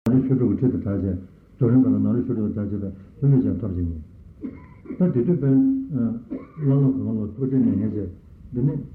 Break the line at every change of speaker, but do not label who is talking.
나를 쇼도 어떻게 다제 저런 거는 나를 쇼도 다제다 저는 좀 답지니 다 뒤집은 라노 그걸로 도저히 내게 되네